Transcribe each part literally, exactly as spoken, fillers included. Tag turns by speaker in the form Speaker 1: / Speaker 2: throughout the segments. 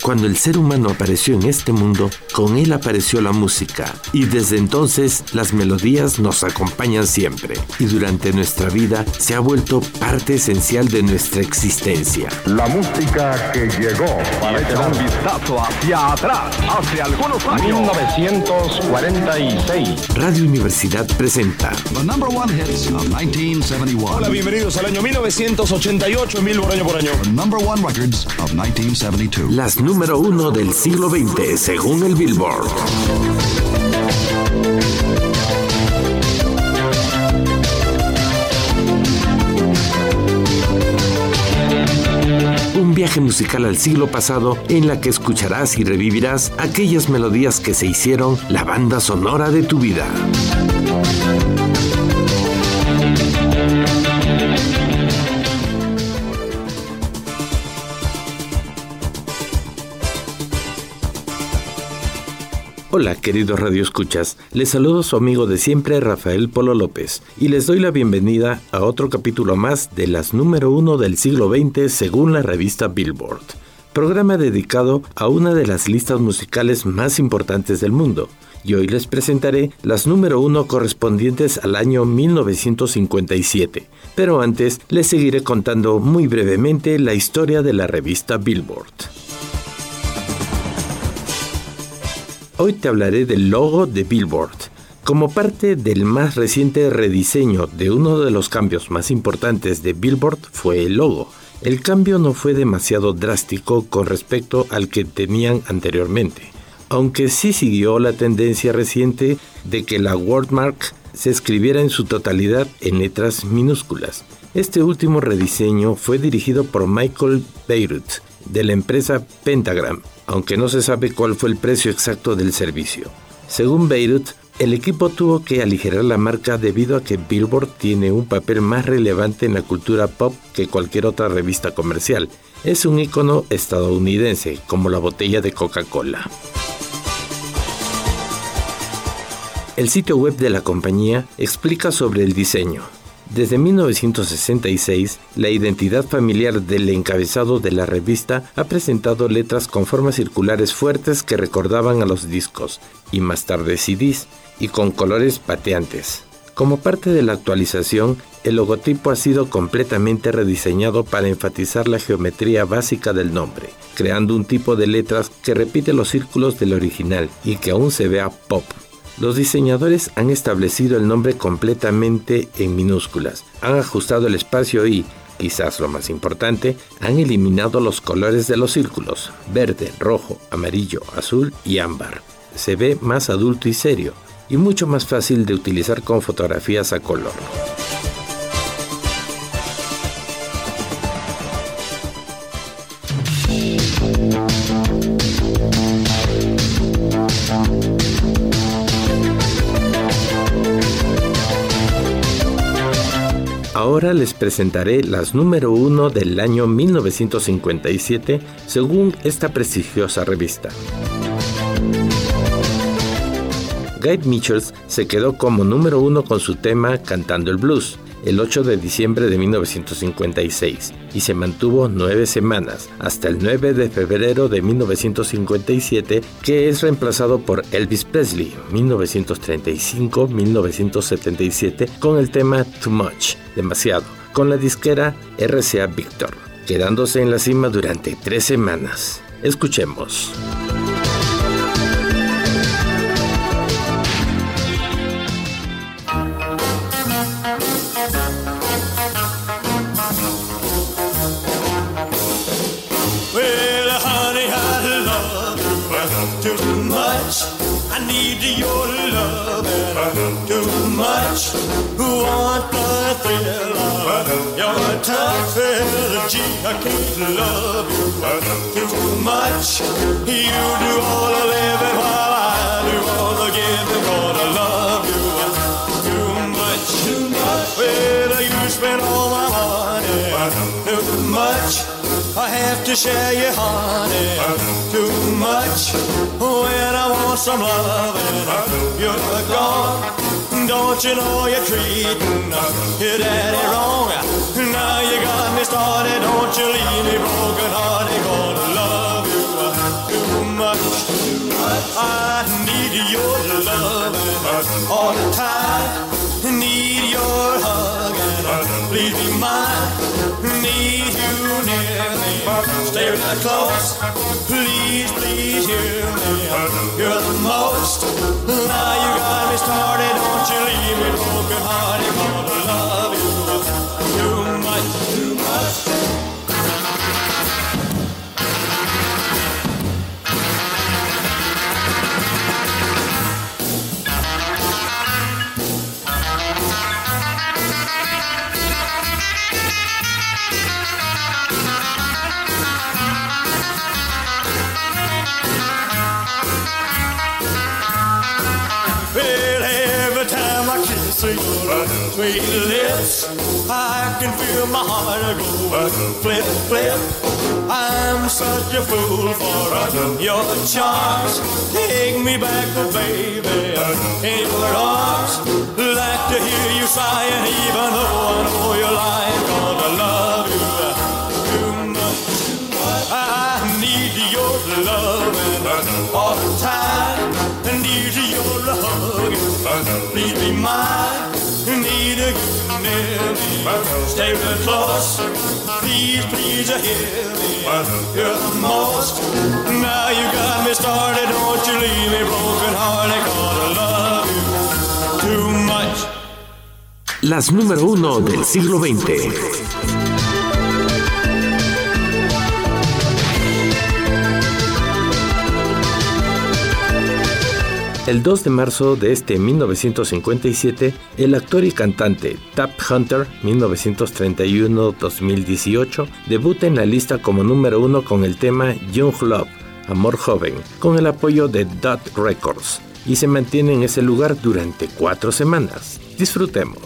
Speaker 1: Cuando el ser humano apareció en este mundo, con él apareció la música, y desde entonces las melodías nos acompañan siempre, y durante nuestra vida se ha vuelto parte esencial de nuestra existencia.
Speaker 2: La música que llegó para
Speaker 3: echar un vistazo hacia atrás, hace algunos años.
Speaker 2: mil novecientos cuarenta y seis.
Speaker 1: Radio Universidad presenta
Speaker 4: The number one hits of nineteen seventy-one.
Speaker 5: Hola, bienvenidos al año mil novecientos ochenta y ocho, mil por año por año.
Speaker 4: The number one records of nineteen seventy-two.
Speaker 1: Las número uno del siglo veinte, según el Billboard. Un viaje musical al siglo pasado en la que escucharás y revivirás aquellas melodías que se hicieron la banda sonora de tu vida. Hola, queridos radioescuchas, les saludo su amigo de siempre, Rafael Polo López, y les doy la bienvenida a otro capítulo más de las número uno del siglo veinte según la revista Billboard, programa dedicado a una de las listas musicales más importantes del mundo, y hoy les presentaré las número uno correspondientes al año mil novecientos cincuenta y siete, pero antes les seguiré contando muy brevemente la historia de la revista Billboard. Hoy te hablaré del logo de Billboard. Como parte del más reciente rediseño de uno de los cambios más importantes de Billboard fue el logo. El cambio no fue demasiado drástico con respecto al que tenían anteriormente, aunque sí siguió la tendencia reciente de que la wordmark se escribiera en su totalidad en letras minúsculas. Este último rediseño fue dirigido por Michael Beirut, de la empresa Pentagram, aunque no se sabe cuál fue el precio exacto del servicio. Según Beirut, el equipo tuvo que aligerar la marca debido a que Billboard tiene un papel más relevante en la cultura pop que cualquier otra revista comercial. Es un ícono estadounidense, como la botella de Coca-Cola. El sitio web de la compañía explica sobre el diseño. Desde mil novecientos sesenta y seis, la identidad familiar del encabezado de la revista ha presentado letras con formas circulares fuertes que recordaban a los discos, y más tarde C Ds, y con colores pateantes. Como parte de la actualización, el logotipo ha sido completamente rediseñado para enfatizar la geometría básica del nombre, creando un tipo de letras que repite los círculos del original y que aún se vea pop. Los diseñadores han establecido el nombre completamente en minúsculas, han ajustado el espacio y, quizás lo más importante, han eliminado los colores de los círculos, verde, rojo, amarillo, azul y ámbar. Se ve más adulto y serio, y mucho más fácil de utilizar con fotografías a color. Ahora les presentaré las número uno del año mil novecientos cincuenta y siete según esta prestigiosa revista. Guy Mitchell se quedó como número uno con su tema Cantando el Blues el ocho de diciembre de mil novecientos cincuenta y seis y se mantuvo nueve semanas hasta el nueve de febrero de mil novecientos cincuenta y siete, que es reemplazado por Elvis Presley mil novecientos treinta y cinco a mil novecientos setenta y siete con el tema Too Much, demasiado, con la disquera R C A Victor, quedándose en la cima durante tres semanas. Escuchemos.
Speaker 6: Too much, I need your love and too much, want the thrill of your tough energy. I can't love you too much. You do all the living while I do all the giving. Gonna love you too much, too much. Well, you spend all my money too much. I have to share you, honey, too much. When I want some loving, you're gone. Don't you know you're treating your daddy wrong? Now you got me started, don't you leave me broken hearted. Gonna love you all the time. Need your hug and please be mine. Need you near me, stay real close. Please, please hear me, you're the most. Now you got me started, don't you leave me broken hearted. Gonna love you too much, too much. Your sweet lips, I can feel my heart go flip, flip. I'm such a fool for your charms. Take me back, oh baby, in your arms. Like to hear you sighing, even though I know you're lying. Gonna love you too much, too much. I need your loving all the time. I need your hug, please be mine. Need a you near me, stay real close. Please, please hear me, you're the most. Now you got me started, don't you leave me broken hearted. Gonna love you too much.
Speaker 1: Las número uno del siglo veinte. El dos de marzo de este mil novecientos cincuenta y siete, el actor y cantante Tab Hunter, mil novecientos treinta y uno a dos mil dieciocho, debuta en la lista como número uno con el tema Young Love, Amor Joven, con el apoyo de Dot Records, y se mantiene en ese lugar durante cuatro semanas. Disfrutemos.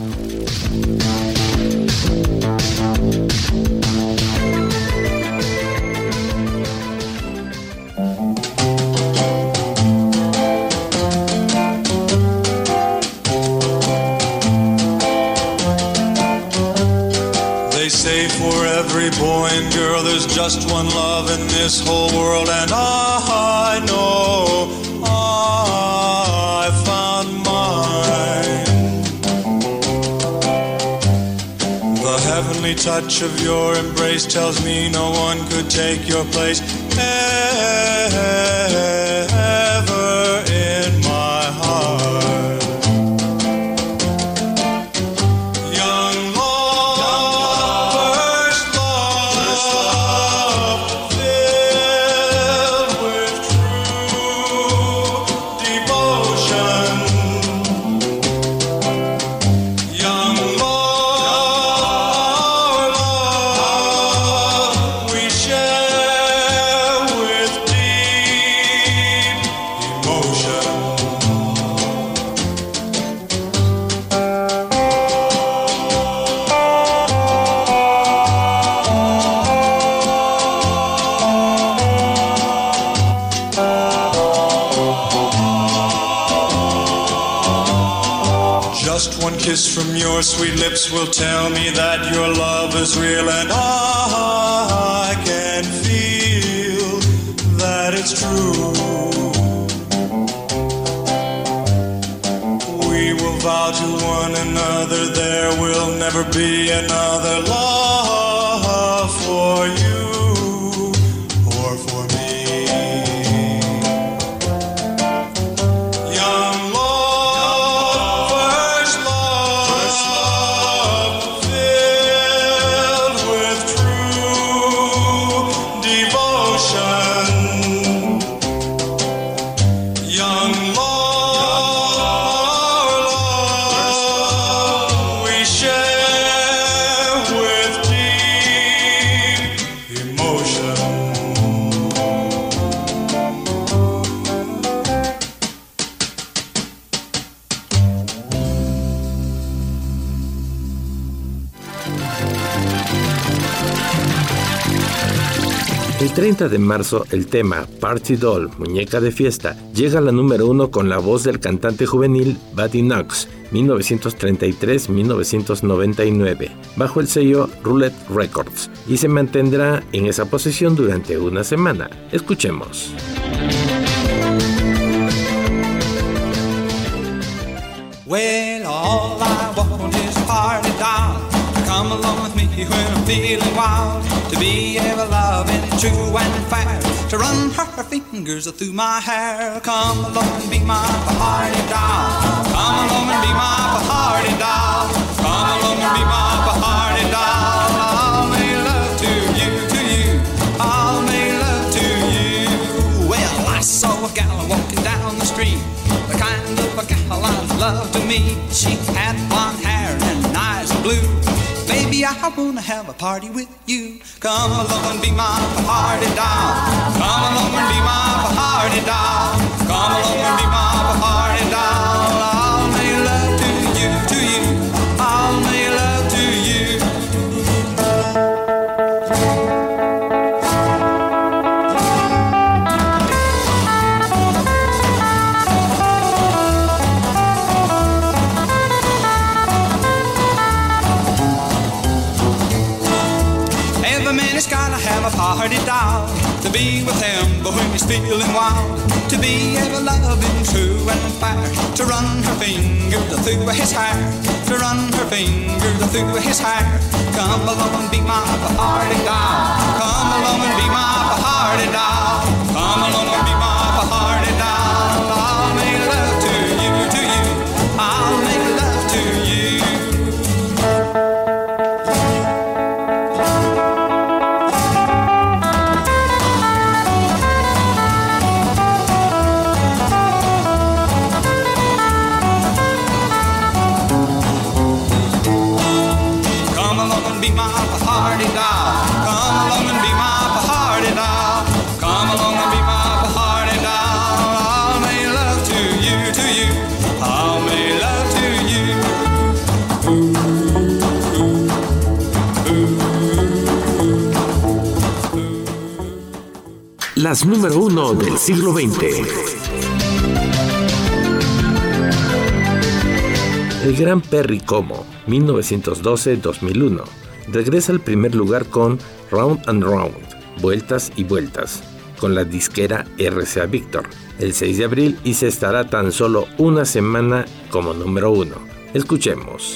Speaker 7: Every boy and girl, there's just one love in this whole world, and I know I found mine. The heavenly touch of your embrace tells me no one could take your place ever in my heart. Kiss from your sweet lips will tell me that your love is real, and I can feel that it's true. We will vow to one another there will never be another love for you or for me. Young love,
Speaker 1: El treinta de marzo, el tema Party Doll, Muñeca de Fiesta, llega a la número uno con la voz del cantante juvenil Buddy Knox, mil novecientos treinta y tres a mil novecientos noventa y nueve, bajo el sello Roulette Records, y se mantendrá en esa posición durante una semana. Escuchemos.
Speaker 7: Well, all I want is a party doll. Come along with me when I'm feeling wild. To be ever loving, true and fair. To run her fingers through my hair. Come along and be my party doll. Come along and be my party doll. Come along and be my party doll. I'll make love to you, to you. I'll make love to you. Well, I saw a gal walking down the street. The kind of a gal I love to meet. She had blonde hair and eyes of blue. Baby, I wanna have a party with you. Come along and be my party doll. Come along and be my party doll. Come along and be my party doll. I'll make love to you, to you. I'll make love to you. A party doll to be with him, but when he's feeling wild, to be ever loving, true and fair, to run her fingers through his hair, to run her fingers through his hair. Come along and be my party doll. Come along and be my party doll. Come along and be my party doll. I'll make love to you, to you. I'll make love to you.
Speaker 1: Las número uno del siglo veinte. El gran Perry Como, mil novecientos doce a dos mil uno, regresa al primer lugar con Round and Round, Vueltas y Vueltas, con la disquera R C A Victor, el seis de abril, y se estará tan solo una semana como número uno. Escuchemos.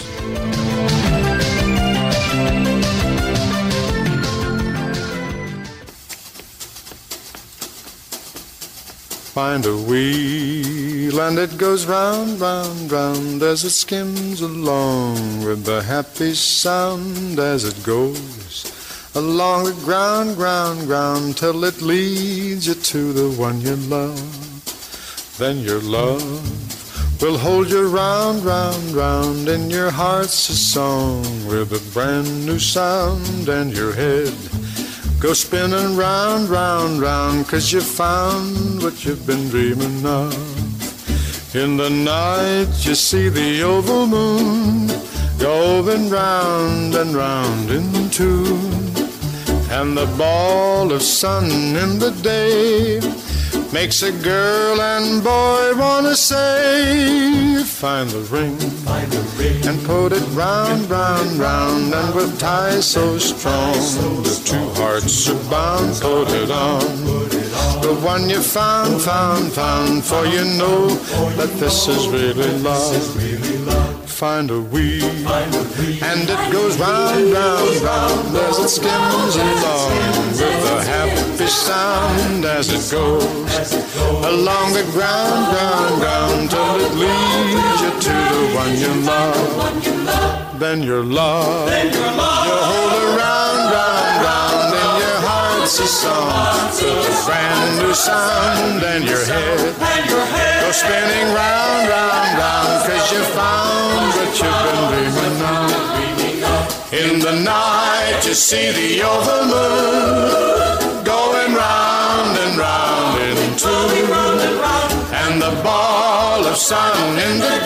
Speaker 8: Find a wheel and it goes round, round, round as it skims along with the happy sound as it goes along the ground, ground, ground till it leads you to the one you love. Then your love will hold you round, round, round in your heart's a song with a brand new sound, and your head go spinning round, round, round, 'cause you found what you've been dreaming of. In the night you see the oval moon going round and round in tune, and the ball of sun in the day makes a girl and boy wanna say, find the ring, find the ring and put it round, round, round, and with ties so strong the two hearts are bound, put it on, the one you found, found, found, for you know that this is really love. Find a wheel, and it goes round, round, round as it skims along with a happy sound as it goes along the ground, ground, ground till it leads you to the one you love. Then your love, you hold her round, round, round in your heart's a song with a brand new sound, and your head go spinning round, round, round, 'cause you found what you've been dreaming of. In the night you see the oval moon going round and round in two, and the ball of sun in the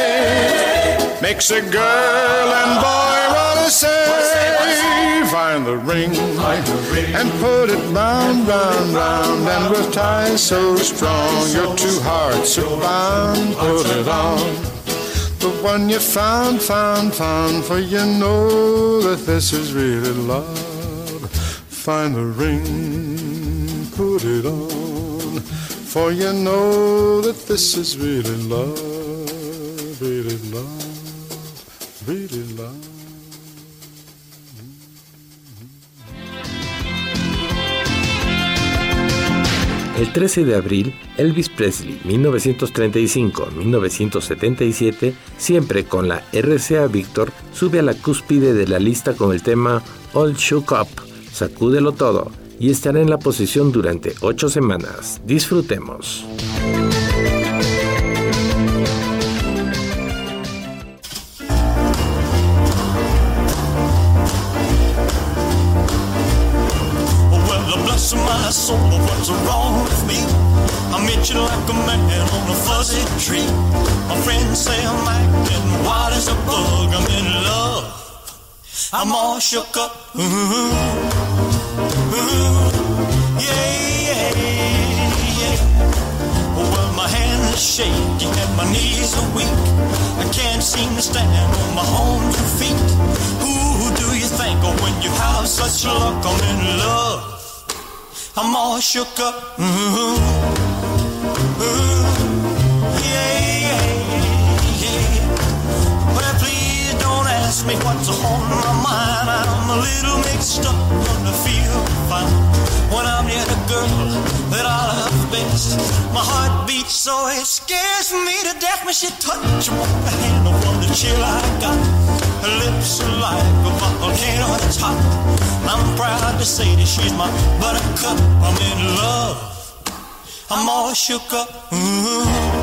Speaker 8: day makes a girl and boy wanna say, find the ring and put it round, round, round, and with ties so strong your two hearts are bound, put it on, the one you found, found, found, for you know that this is really love. Find the ring, put it on, for you know that this is really love. beat it, love, beat it, love.
Speaker 1: El trece de abril, Elvis Presley, mil novecientos treinta y cinco a mil novecientos setenta y siete, siempre con la R C A Victor, sube a la cúspide de la lista con el tema All Shook Up, Sacúdelo Todo, y estará en la posición durante ocho semanas. Disfrutemos.
Speaker 6: My soul, what's wrong with me? I'm itching like a man on a fuzzy tree. My friends say I'm acting wild as a bug. I'm in love, I'm all shook up. Ooh, ooh, yeah, yeah, yeah. Well, my hands are shaky and my knees are weak. I can't seem to stand on my own two feet. Who do you think of when you have such luck? I'm in love, I'm all shook up. Mm-hmm. Ooh, yeah, yeah, yeah. Well, please don't ask me what's on my mind. I'm a little mixed up, but I feel fine when I'm near the girl that I love best. My heart beats so it scares me to death when she touches my hand. I wonder the chill I got. Her lips are like a volcano that's hot. I'm proud to say that she's my buttercup. I'm in love, I'm all shook up. Ooh,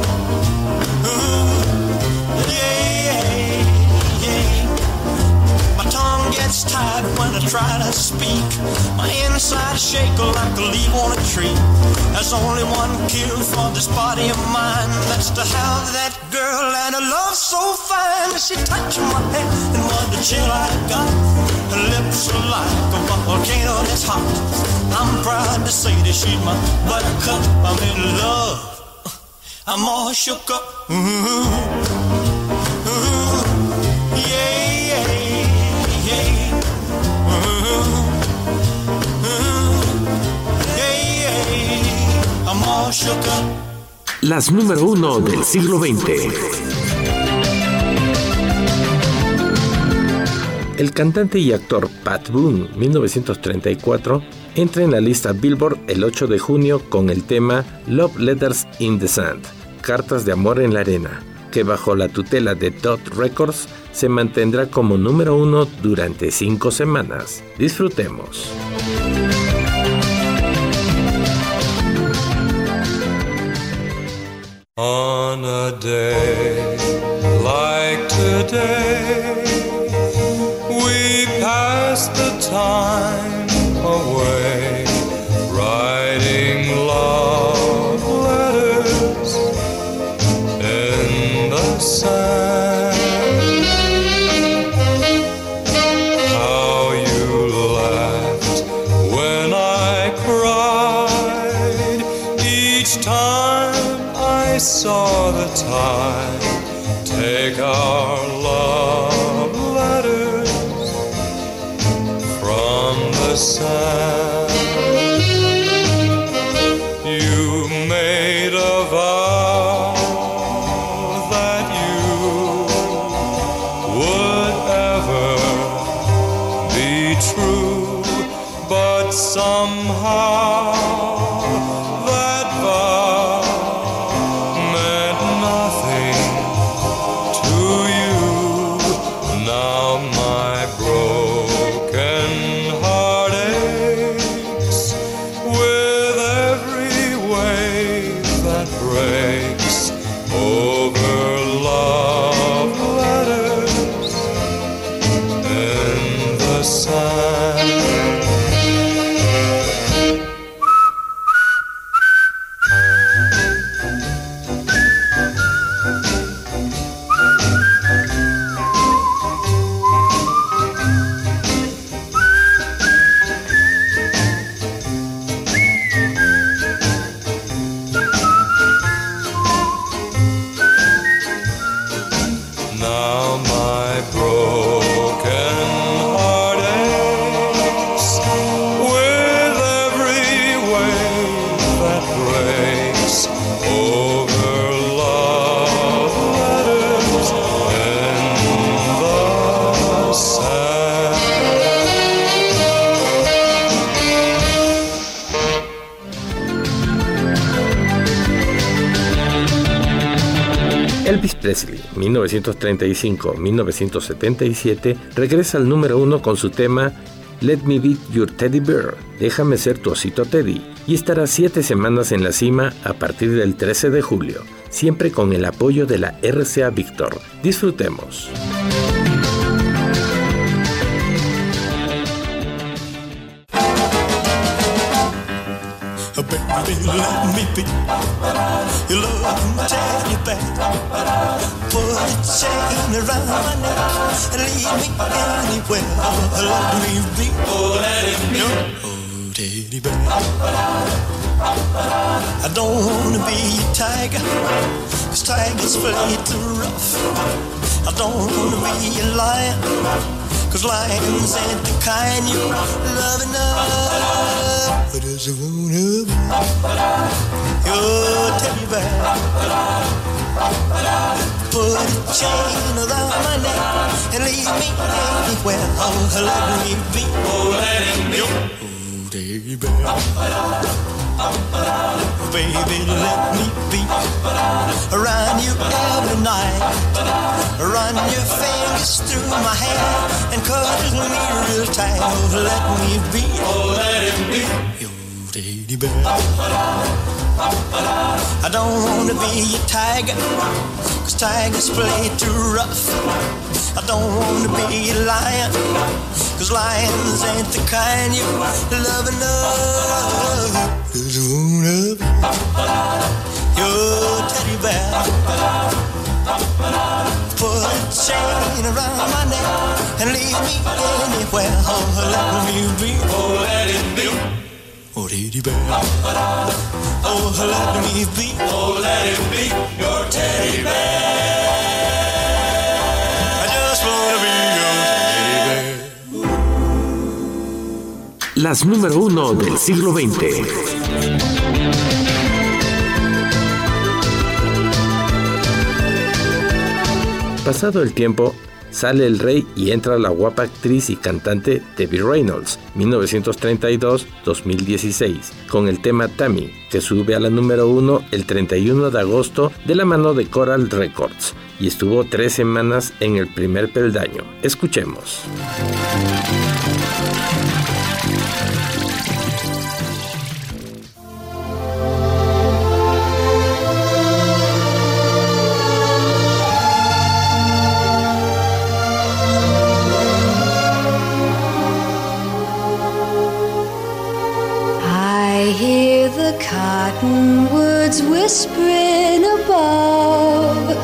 Speaker 6: ooh, yeah, yeah, yeah. My tongue gets tied when I try to speak. My inside shake like a leaf on a tree. There's only one cure for this body of mine. That's to have that girl and a love so fine. She touched my head and what the chill I got. Her lips are like a volcano that's hot. I'm proud to say that she's my buttercup. I'm in love, I'm all shook up. Ooh, ooh, yeah, yeah, yeah. Ooh, ooh, yeah, yeah. I'm all shook up.
Speaker 1: Las número uno del siglo veinte. El cantante y actor Pat Boone, mil novecientos treinta y cuatro, entra en la lista Billboard el ocho de junio con el tema Love Letters in the Sand, Cartas de Amor en la Arena, que bajo la tutela de Dot Records se mantendrá como número uno durante cinco semanas. Disfrutemos.
Speaker 9: On a day like today, we pass the time away, writing love letters in the sand. How you laughed when I cried each time I saw the tide take our love letters from the sand. You made a vow that you would ever be true, but somehow that vow meant nothing to you. Now my broken heart aches with every wave that breaks over love letters in the sand.
Speaker 1: Presley, mil novecientos treinta y cinco a mil novecientos setenta y siete, regresa al número uno con su tema Let Me Be Your Teddy Bear, Déjame Ser Tu Osito Teddy, y estará siete semanas en la cima a partir del trece de julio, siempre con el apoyo de la R C A Víctor. Disfrutemos.
Speaker 6: Baby, let me be your love teddy bear. Put a chain around my neck and lead me anywhere. Let me be, oh, let it be your teddy bear. I don't wanna be a tiger, 'cause tigers play too rough. I don't wanna be a lion, 'cause lions ain't the kind you love enough. I just wanna be your teddy bear. Put a chain around my neck and lead me anywhere. Oh, let me be, oh, let it be your teddy bear. Baby, let me be around you every night. Run your fingers through my hair and cuddle me real tight. Oh, let me be, oh, let it be your teddy bear. I don't wanna be a tiger, 'cause tigers play too rough. I don't wanna be a lion, 'cause lions ain't the kind you love enough. Just wanna be your teddy bear. Put a chain around my neck and lead me anywhere. Oh, let me be, oh, let it be, oh, teddy bear. Oh, let me be, oh, let it be your teddy bear. I just wanna be your teddy bear.
Speaker 1: Las número uno del siglo veinte. Pasado el tiempo, sale el rey y entra la guapa actriz y cantante Debbie Reynolds, mil novecientos treinta y dos a dos mil dieciséis, con el tema Tammy, que sube a la número uno el treinta y uno de agosto de la mano de Coral Records, y estuvo tres semanas en el primer peldaño. Escuchemos.
Speaker 10: Cottonwoods whispering above,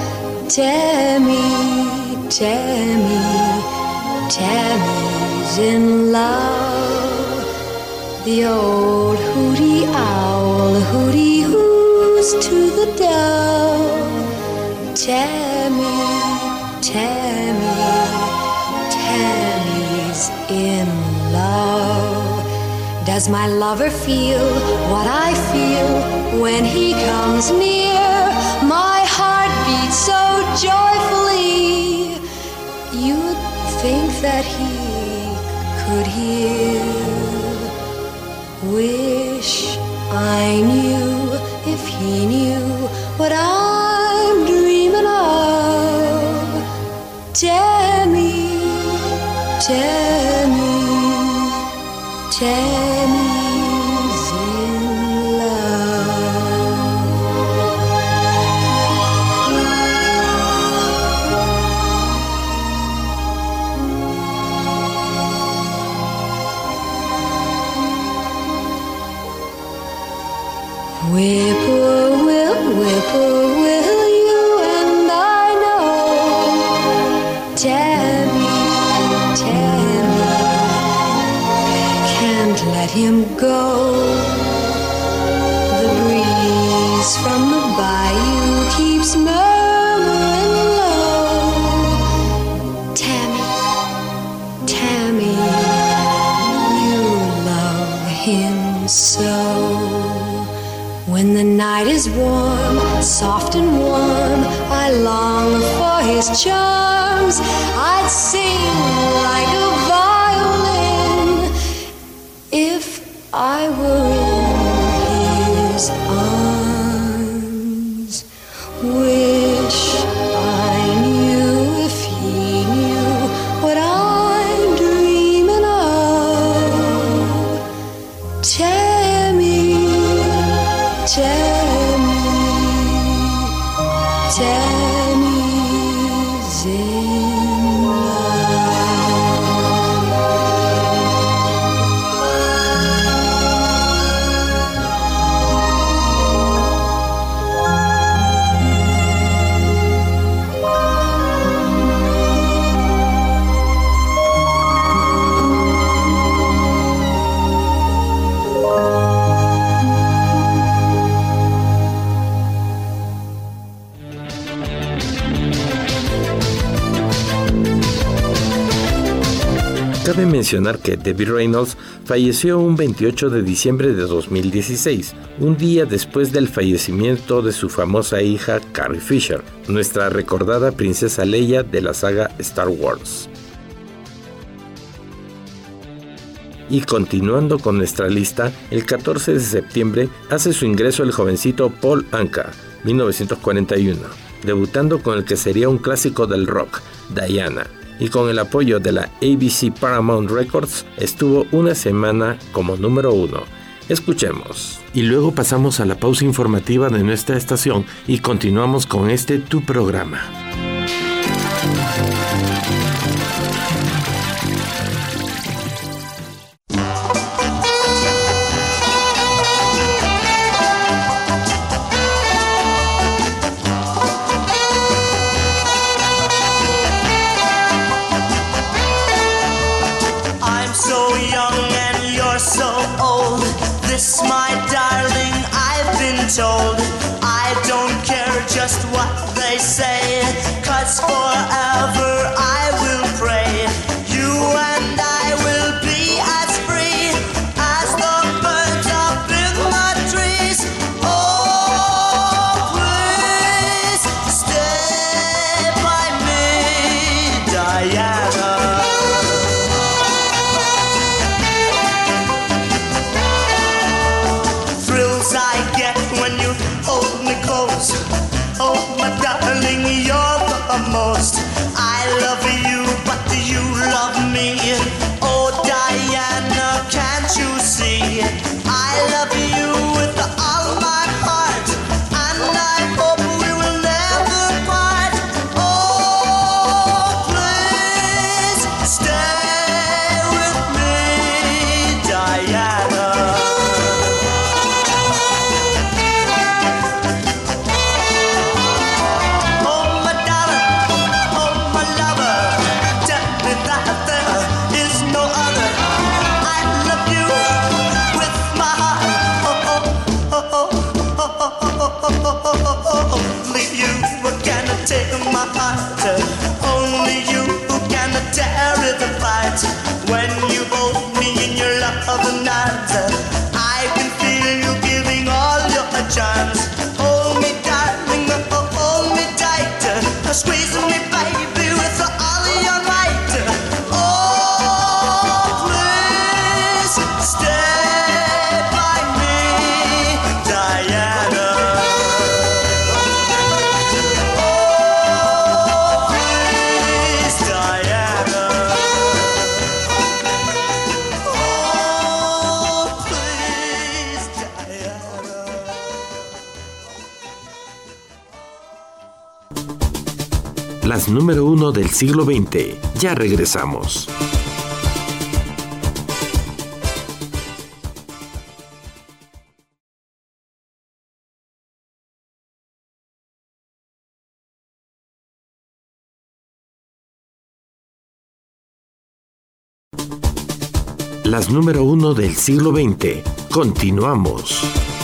Speaker 10: Tammy, Tammy, Tammy's in love. The old hooty owl hooty hoos to the dove. Tammy, Tammy, Tammy's in love. Does my lover feel what I feel when he comes near? My heart beats so joyfully, you'd think that he could hear. Wish I knew if he knew what I'm dreaming of. Tammy, Tammy, Tammy's in love. Whippoorwill, whippoorwill, you and I know. Tammy, Tammy, can't let him go. The breeze from the bayou keeps murmuring low. Tammy, Tammy, you love him so. When the night is warm, soft and warm, I long for his charms. I'd sing like a violin if I were in his arms. Wish I Tammy's in
Speaker 1: Cabe mencionar que Debbie Reynolds falleció un veintiocho de diciembre de dos mil dieciséis, un día después del fallecimiento de su famosa hija Carrie Fisher, nuestra recordada princesa Leia de la saga Star Wars. Y continuando con nuestra lista, el catorce de septiembre hace su ingreso el jovencito Paul Anka, mil novecientos cuarenta y uno, debutando con el que sería un clásico del rock, Diana, y con el apoyo de la A B C Paramount Records estuvo una semana como número uno. Escuchemos. Y luego pasamos a la pausa informativa de nuestra estación y continuamos con este Tu Programa.
Speaker 6: This, my darling, I've been told. I don't care just what they say, 'cause forever I will pray. You and I will be as free as the birds up in the trees. Oh, please stay by me, Diana. Oh, my darling, you're the most. I love you, but you love me. Oh, Diana, can't you see? I love you with all my heart, and I hope we will never part. Oh, please stay with me, Diana. Only you can take my heart. Only you can tear it apart. When you hold me in your love night, I can feel you giving all your charms. Hold me, darling, hold me tight. Squeeze me, baby, with all your might. Oh, please stay by me, Diana.
Speaker 1: Las número uno del siglo veinte. Ya regresamos. Las número uno del siglo veinte. Continuamos.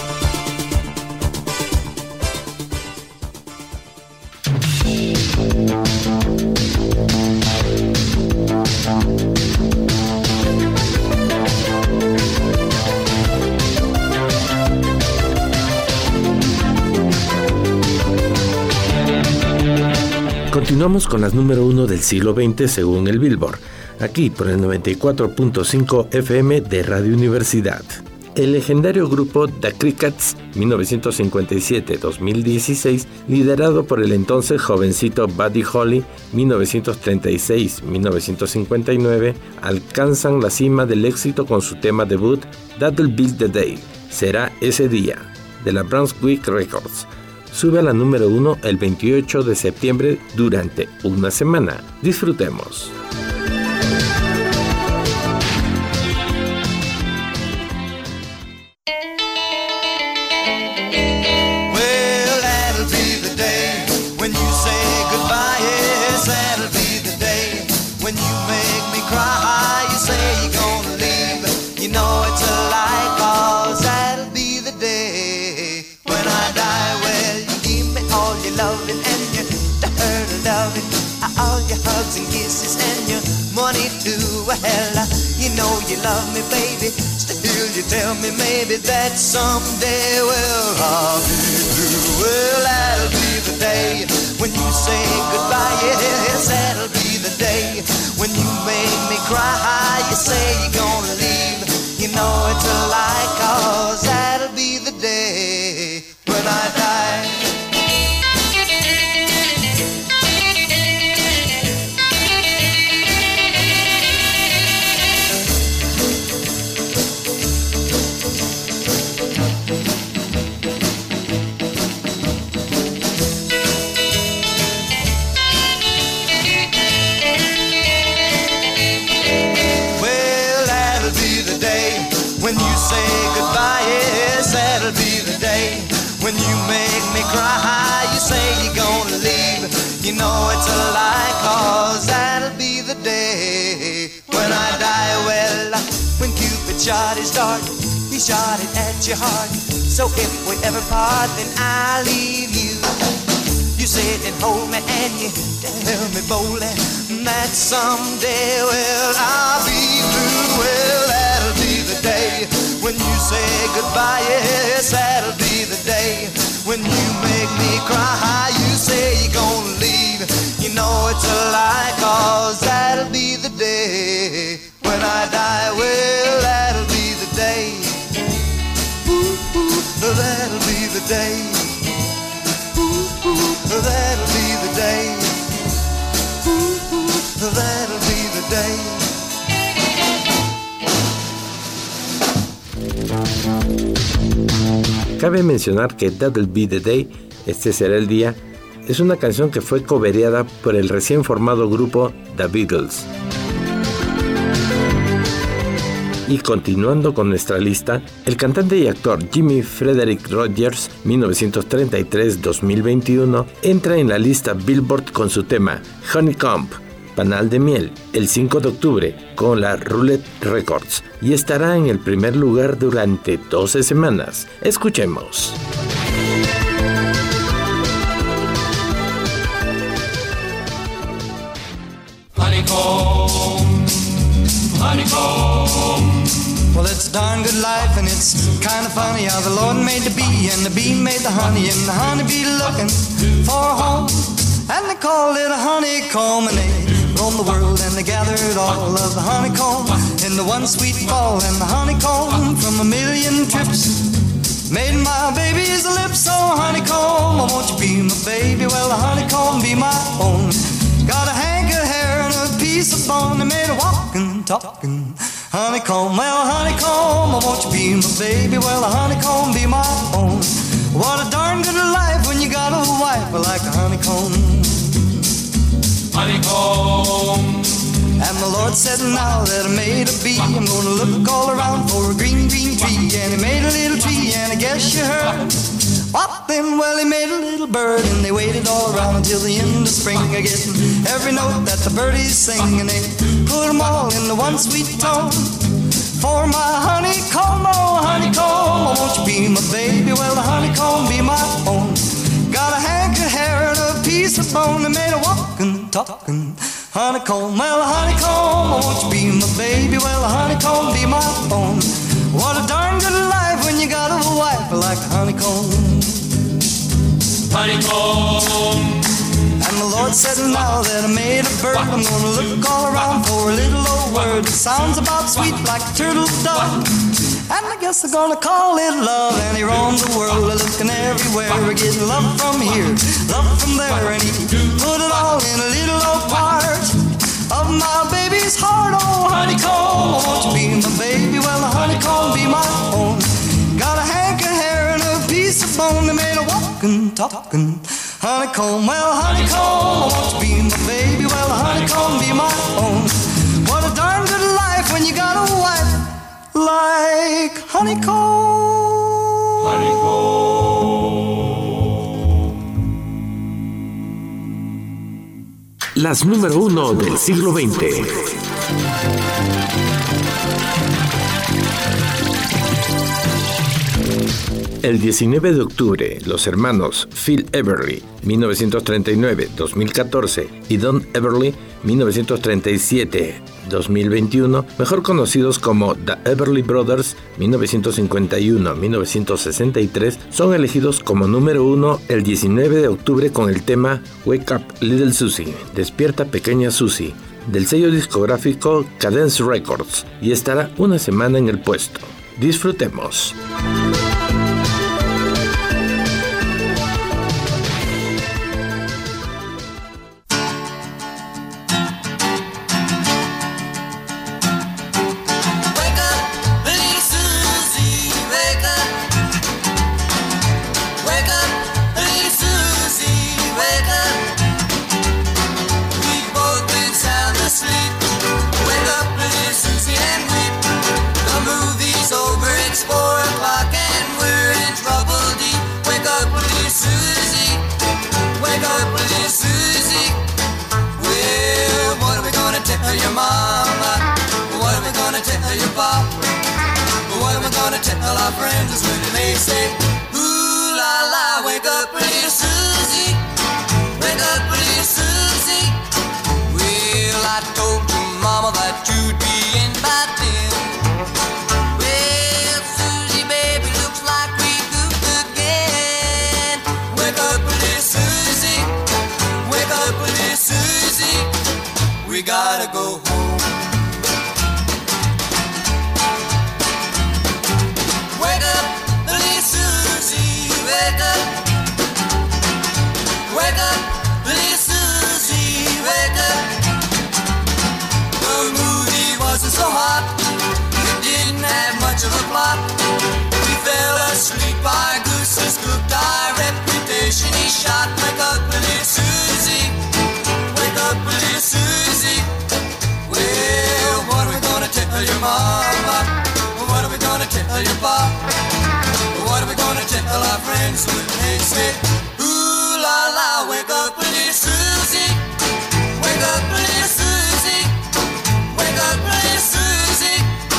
Speaker 1: Continuamos con las número uno del siglo veinte según el Billboard, aquí por el noventa y cuatro punto cinco F M de Radio Universidad. El legendario grupo The Crickets, mil novecientos cincuenta y siete a dos mil dieciséis, liderado por el entonces jovencito Buddy Holly, mil novecientos treinta y seis a mil novecientos cincuenta y nueve, alcanzan la cima del éxito con su tema debut, That'll Be the Day, será ese día. de la Brunswick Records. Sube a la número uno el veintiocho de septiembre durante una semana. Disfrutemos.
Speaker 11: And kisses and your money too. Well, you know you love me, baby. Still you tell me maybe that someday, well, I'll be through. Well, that'll be the day when you say goodbye. Yes, that'll be the day when you make me cry. You say you're gonna leave. You know it's a lie, 'cause that'll be the day when I die. When you make me cry, you say you're gonna leave. You know it's a lie, 'cause that'll be the day when I die. Well, when Cupid shot his dart, he shot it at your heart. So if we ever part, then I'll leave you. You sit and hold me and you tell me boldly that someday, well, I'll be through. Well, that'll be the day when you say goodbye. Yes, that'll be the day when you make me cry. You say you're gonna leave. You know it's a lie, 'cause that'll be the day when I die. Well, that'll be the day. Ooh, ooh, that'll be the day. Ooh, ooh, that'll be the day. Ooh, ooh, that'll be the day.
Speaker 1: Cabe mencionar que That'll Be the Day, este será el día, es una canción que fue cobereada por el recién formado grupo The Beatles. Y continuando con nuestra lista, el cantante y actor Jimmy Frederick Rodgers, mil novecientos treinta y tres a dos mil veintiuno, entra en la lista Billboard con su tema Honeycomb, Panal de Miel, el cinco de octubre con la Roulette Records y estará en el primer lugar durante doce semanas. Escuchemos.
Speaker 7: Honeycomb, honeycomb. Well, it's a darn good life and it's kind of funny how the Lord made the bee and the bee made the honey and the honeybee looking for a home. And they called it a honeycomb and they roamed the world and they gathered all of the honeycomb in the one sweet fall. And the honeycomb from a million trips made my baby's lips. So honeycomb, oh, won't you be my baby? Well, the honeycomb be my own. Got a hank of hair and a piece of bone that made a walking, talking honeycomb. Well, honeycomb, oh, won't you be my baby? Well, the honeycomb be my own. What a darn good life when you got a wife like a honeycomb. Honeycomb. And the Lord said, now that I made a bee, I'm gonna look all around for a green, green tree. And he made a little tree, and I guess you heard. What then? Well, he made a little bird, and they waited all around until the end of spring, getting every note that the birdies sing, and they put them all in the one sweet tone. For my honeycomb, oh honeycomb, oh, won't you be my baby? Well, the honeycomb be my own. Got a hank of hair and a piece of bone that made a walking, talking honeycomb. Well, the honeycomb, oh, won't you be my baby? Well, the honeycomb be my own. What a darn good life when you got a wife like a honeycomb. Honeycomb. And the Lord said, now that I made a bird, I'm gonna look all around for a little old word that sounds about sweet like a turtle dove. And I guess I'm gonna call it love. And he roamed the world looking everywhere, getting love from here, love from there. And he put it all in a little old part of my baby's heart. Oh honeycomb, won't you be my baby? Well, the honeycomb be my own. Got a hank of hair and a piece
Speaker 11: and talking. Honeycomb, well, honeycomb, I want to be my baby. Well, honeycomb, be my own. What a darn good life when you got a wife like honeycomb.
Speaker 1: Honeycomb. Las número uno del siglo veinte. El diecinueve de octubre, los hermanos Phil Everly, mil novecientos treinta y nueve a dos mil catorce, y Don Everly, mil novecientos treinta y siete a dos mil veintiuno, mejor conocidos como The Everly Brothers, mil novecientos cincuenta y uno a mil novecientos sesenta y tres, son elegidos como número uno el diecinueve de octubre con el tema Wake Up Little Susie, Despierta Pequeña Susie, del sello discográfico Cadence Records, y estará una semana en el puesto. Disfrutemos.
Speaker 11: Tell our friends when they say, ooh la la, wake up little Susie, wake up little Susie. Well, I told your mama that you'd be in by ten. Well, Susie, baby, looks like we goofed again. Wake up little Susie, wake up little Susie. We gotta go home. So hot, it didn't have much of a plot. We fell asleep, our gooses cooked, our reputation he shot. Wake up, little Susie, wake up, little Susie. Well, what are we gonna tell your mama? What are we gonna tell your pop? What are we gonna tell our friends when they say, ooh la la, wake up, little Susie, wake up, little Susie. Wake up, little Susie.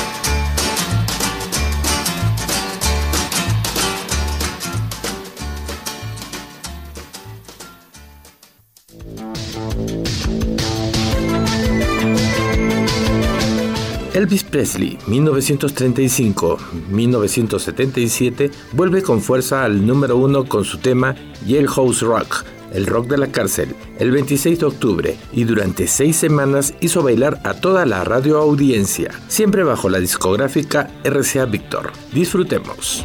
Speaker 1: Elvis Presley, mil novecientos treinta y cinco a mil novecientos setenta y siete, vuelve con fuerza al número uno con su tema Jailhouse Rock, el rock de la cárcel, el veintiséis de octubre, y durante seis semanas hizo bailar a toda la radioaudiencia, siempre bajo la discográfica R C A Victor. Disfrutemos.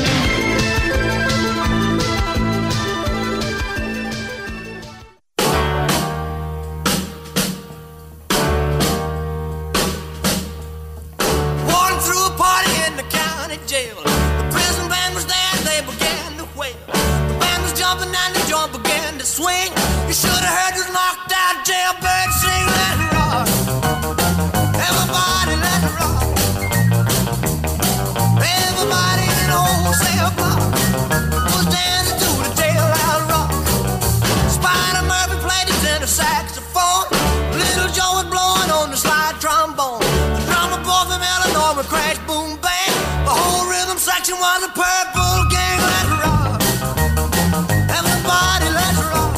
Speaker 11: Swing, you should have heard this knocked out jailbird sing. Let it rock, everybody let it rock. Everybody in the wholesale block was dancing to the jailhouse rock. Spider Murphy played his tenor saxophone. Little Joe was blowing on the slide trombone. The drummer boy from Illinois would crash, boom, bang. The whole rhythm section was a Purple Gang. Let it rock, everybody let it rock.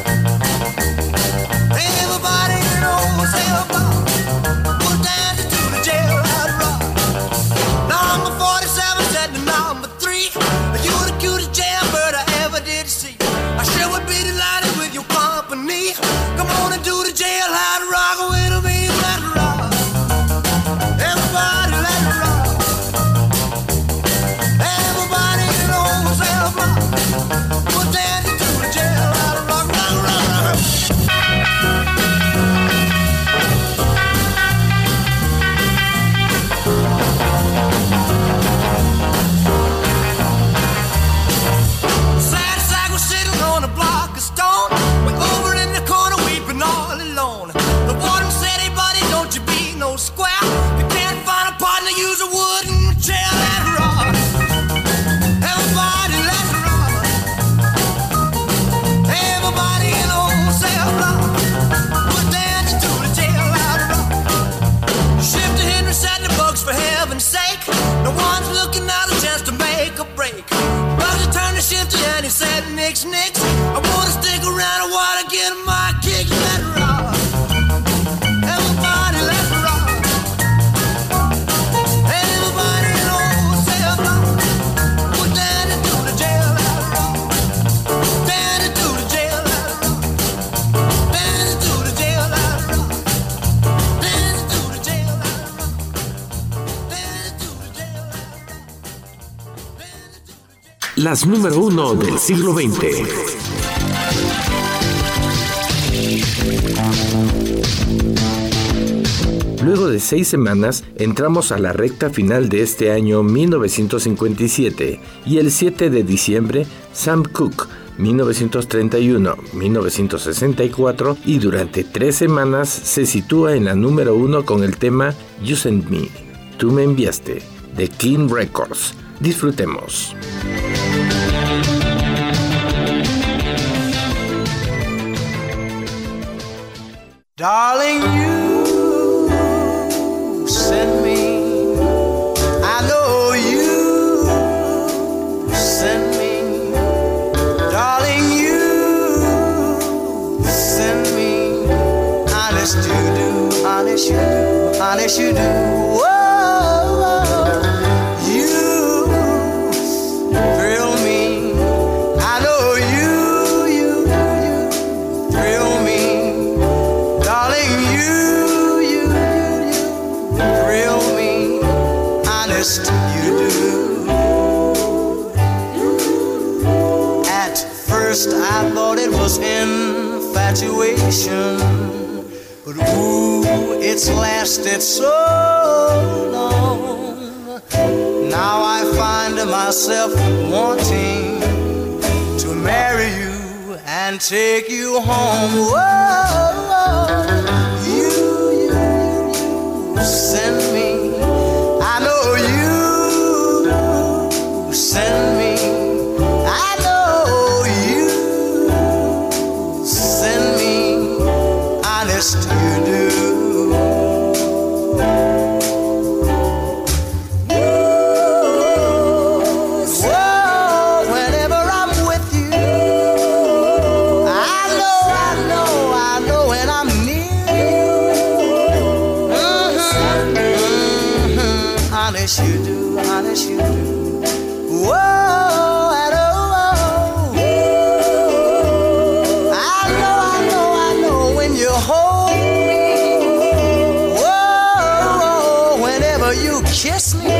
Speaker 11: Everybody in the wholesale block was dancing to the jailhouse rock. Number forty-seven said to number three, you the cutest jailbird I ever did see. I sure would be delighted with your company. Come on and do the jailhouse rock with me. Let it rock, everybody let it rock. Everybody
Speaker 1: las número uno del siglo veinte. Luego de seis semanas, entramos a la recta final de este año mil novecientos cincuenta y siete y el siete de diciembre, Sam Cooke, mil novecientos treinta y uno a mil novecientos sesenta y cuatro, y durante tres semanas se sitúa en la número uno con el tema You Sent Me, Tú me enviaste, de King Records. Disfrutemos.
Speaker 11: Darling, you sent me. I know you sent me. Darling, you sent me. Honest you do, honest you do, honest you do. Whoa, you thrill me. I know you, you, you thrill me. Darling, you, you, you, you thrill me. Honest you do. At first I thought it was infatuation, but ooh, it's lasted so long. Now I find myself wanting to marry you and take you home. Whoa, you, you, you send me. I know you send me. I know you send me. Honest you do. Honest you do, honest you do. Whoa, and oh, oh. I know, I know, I know when you hold me. Whoa, whenever you kiss me.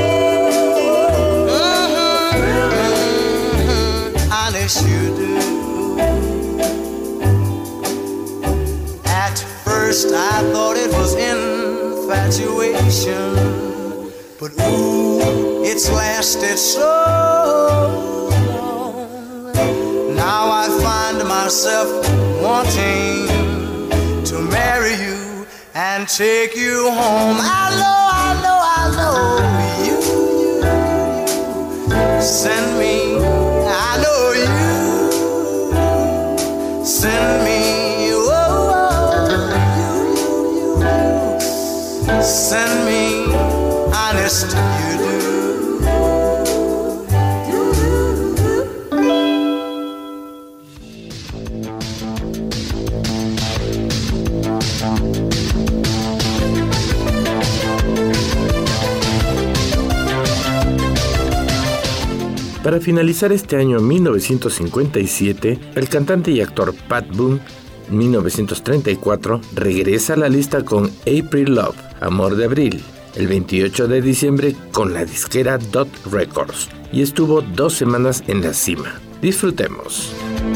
Speaker 11: Mm-hmm, mm-hmm. Honest you do. At first I thought it was infatuation, but ooh, it's lasted so long. Now I find myself wanting to marry you and take you home. I know, I know, I know you, you, you send me. I know you send me. Oh, you, you, you send me. Honest you do.
Speaker 1: Para finalizar este año mil novecientos cincuenta y siete, el cantante y actor Pat Boone, mil novecientos treinta y cuatro, regresa a la lista con April Love, Amor de Abril, el veintiocho de diciembre con la disquera Dot Records, y estuvo dos semanas en la cima. Disfrutemos.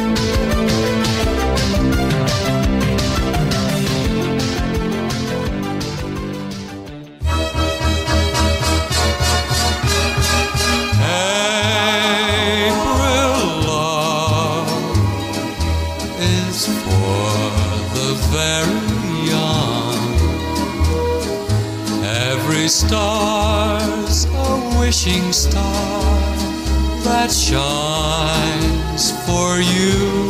Speaker 9: Star's a wishing star that shines for you.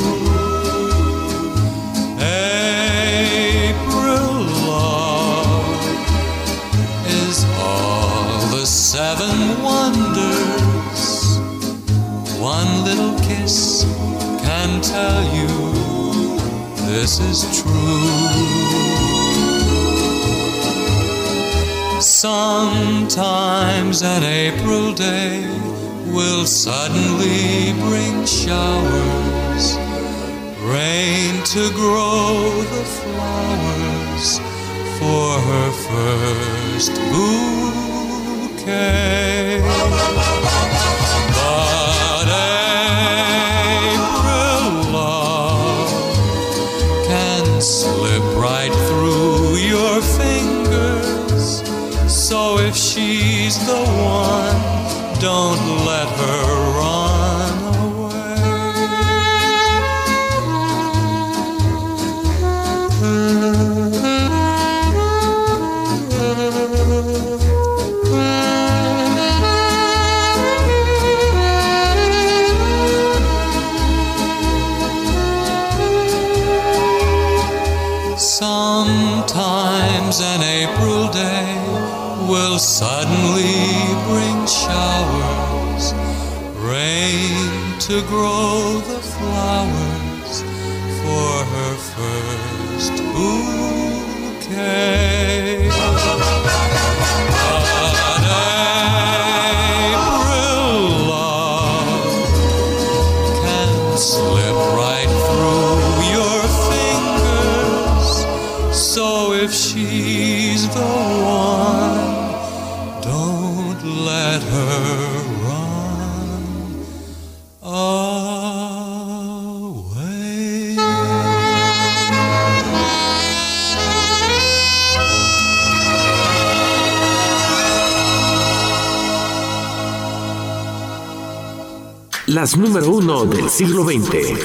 Speaker 9: April love is all the seven wonders. One little kiss can tell you this is true. Sometimes an April day will suddenly bring showers, rain to grow the flowers for her first bouquet. But her run away. Sometimes an April day will suddenly bring showers, rain to grow the flowers for her first bouquet. But April love can slip right through your fingers, so if she's the one, don't let her run away.
Speaker 1: Las número uno del siglo veinte.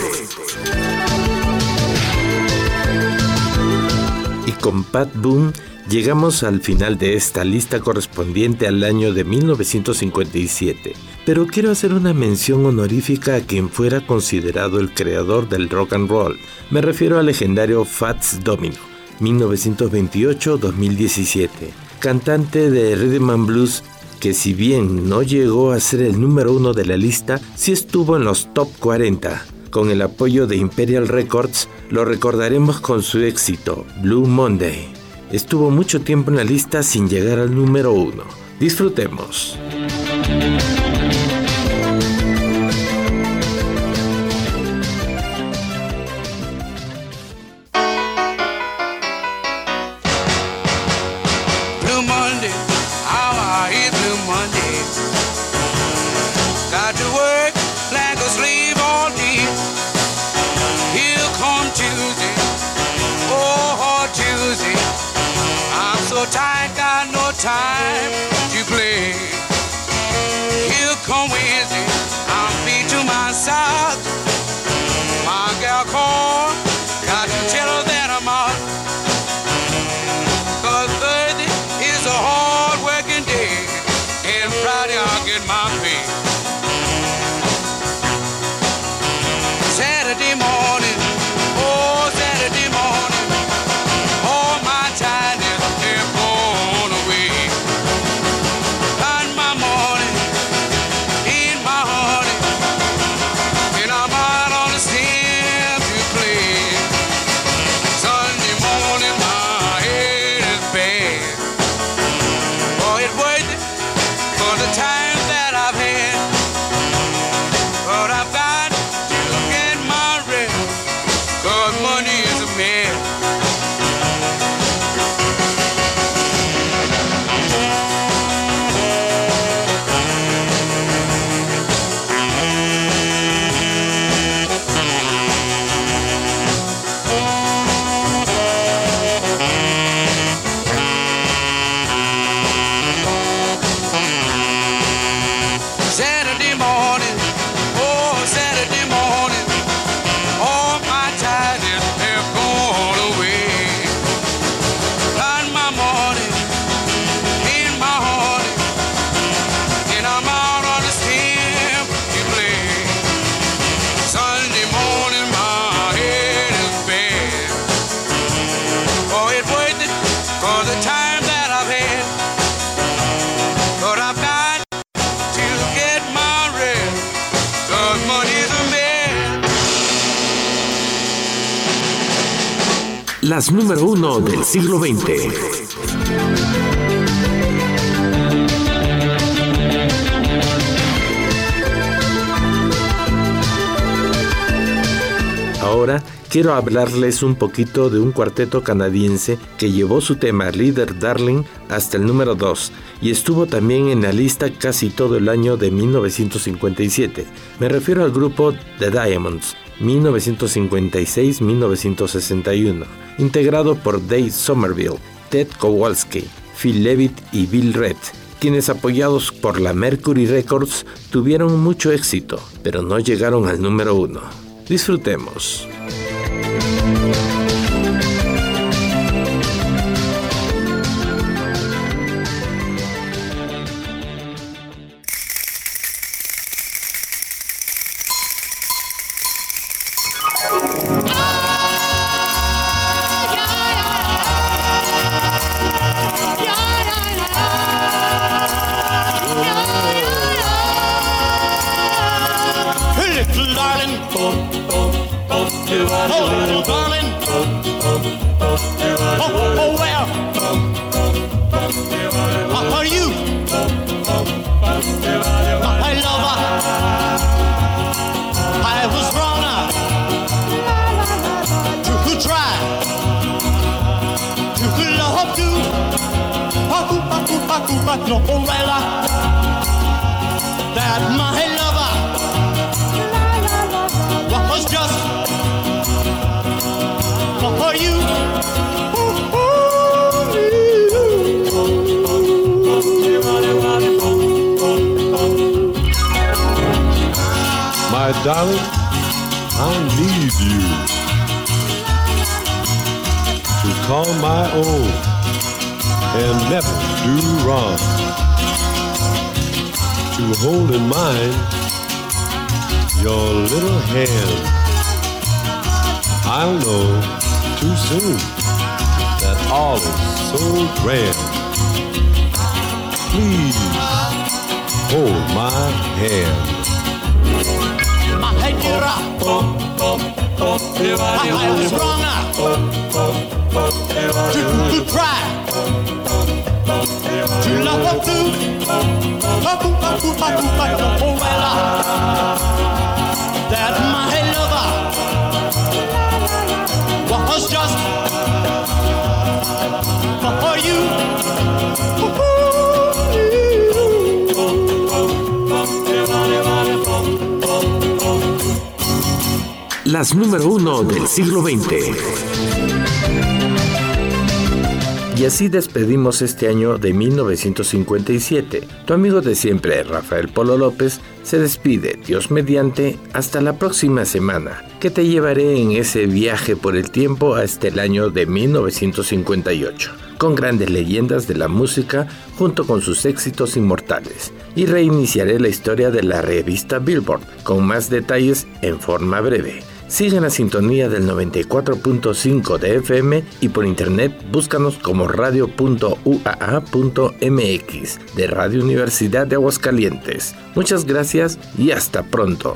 Speaker 1: Y con Pat Boone llegamos al final de esta lista correspondiente al año de mil novecientos cincuenta y siete, pero quiero hacer una mención honorífica a quien fuera considerado el creador del rock and roll. Me refiero al legendario Fats Domino, mil novecientos veintiocho a dos mil diecisiete, cantante de Rhythm and Blues que, si bien no llegó a ser el número uno de la lista, sí estuvo en los top cuarenta. Con el apoyo de Imperial Records, lo recordaremos con su éxito, Blue Monday. Estuvo mucho tiempo en la lista sin llegar al número uno. Disfrutemos.
Speaker 12: Blue Monday, how I hate Blue Monday. Got to work like a slave all day. Here come Tuesday, oh Tuesday. I'm so tired, got no time to play. Here come Wednesday, I'm beat to my socks. My gal called, got to tell her that I'm out. Cause Thursday is a hard working day, and Friday I'll get my pay. Saturday morning, oh Saturday morning, all my tidings have gone away. Find my morning in my honey, and I'm out on the stem to play. Sunday morning, my head is bad. Oh, it's worth it for the time that I've had, but I've got to get my rest, cause money is a man. Saturday morning, oh Saturday morning, all my tidings have gone away. Find my morning in my honey, and I'm out on the stem to play. Sunday morning, my head is bad. Oh, it's worth it for the time that I've had, but I've got to get my rest, cause money's a man.
Speaker 1: Las número uno del siglo veinte. Ahora quiero hablarles un poquito de un cuarteto canadiense que llevó su tema Leader Darling hasta el número dos y estuvo también en la lista casi todo el año de mil novecientos cincuenta y siete. Me refiero al grupo The Diamonds, mil novecientos cincuenta y seis a mil novecientos sesenta y uno, integrado por Dave Somerville, Ted Kowalski, Phil Levitt y Bill Redd, quienes apoyados por la Mercury Records tuvieron mucho éxito, pero no llegaron al número uno. Disfrutemos.
Speaker 6: That my lover was just for you.
Speaker 8: My darling, I need you to call my own and never do wrong, to hold in mind your little hand. I'll know too soon that all is so grand. Please hold my hand.
Speaker 6: My dear, I was wrong to, to try to love her through. Oh, well, that my lover was just for you.
Speaker 1: Las número uno del siglo veinte. Y así despedimos este año de mil novecientos cincuenta y siete. Tu amigo de siempre, Rafael Polo López, se despide, Dios mediante, hasta la próxima semana, que te llevaré en ese viaje por el tiempo hasta el año de mil novecientos cincuenta y ocho, con grandes leyendas de la música junto con sus éxitos inmortales. Y reiniciaré la historia de la revista Billboard, con más detalles en forma breve. Sigue en la sintonía del noventa y cuatro punto cinco de F M y por internet búscanos como radio punto u a a punto m x de Radio Universidad de Aguascalientes. Muchas gracias y hasta pronto.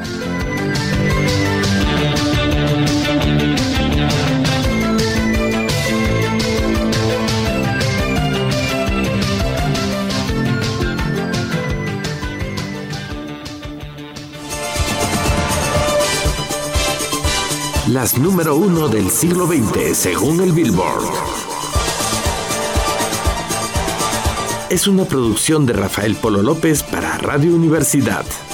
Speaker 1: Las número uno del siglo veinte según el Billboard. Es una producción de Rafael Polo López para Radio Universidad.